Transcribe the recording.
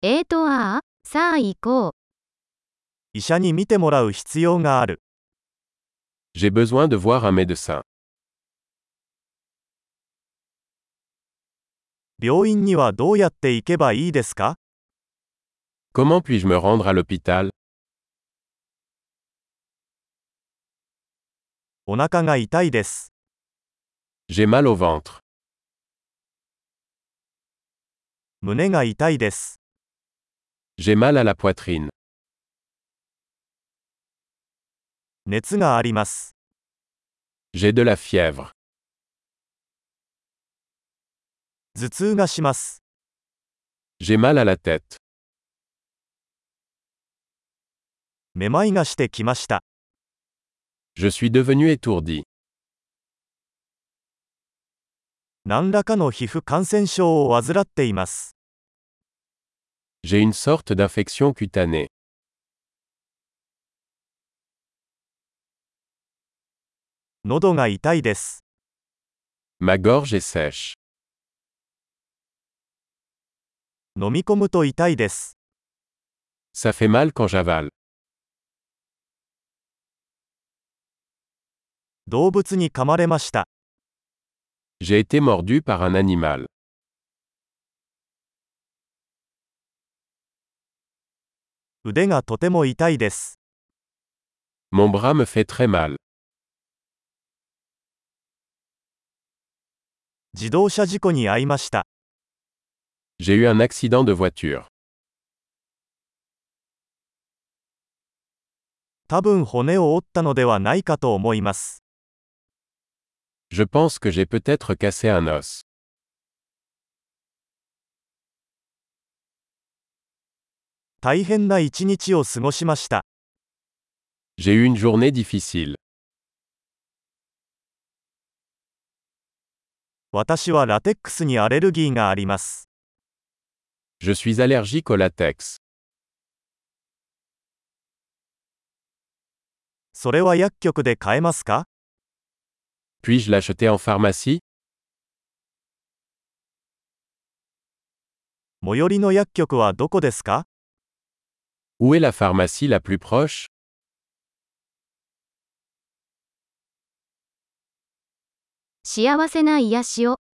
さあ行こう。 医者に診てもらう必要がある。 J'ai besoin de voir un médecin. 病院にはどうやって行けばいいですか？ Comment puis-je me rendre à l'hôpital? お腹が痛いです。 J'ai mal au ventre. 胸が痛いです。 J'ai mal à la poitrine. 熱があります。 J'ai de la fièvre. 頭痛がします。 J'ai mal à la tête. めまいがしてきました。 Je suis devenu étourdi. 何らかの皮膚感染症を患っています。 J'ai une sorte d'infection cutanée. 喉が痛いです。 Ma gorge est sèche. 飲み込むと痛いです。 Ça fait mal quand j'avale. 動物に噛まれました。 J'ai été mordu par un animal. 腕がとても痛いです。 Mon bras me fait très mal. 自動車事故に遭いました。 J'ai eu un accident de voiture. 多分骨を折ったのではないかと思います。 Je pense que j'ai peut-être cassé un os. 大変な一日を過ごしました。 J'ai eu une journée difficile. 私はラテックスにアレルギーがあります。 Je suis allergique au latex. それは薬局で買えますか？ Puis-je l'acheter en pharmacie? 最寄りの薬局はどこですか？ Où est la pharmacie la plus proche? 幸せな癒しを。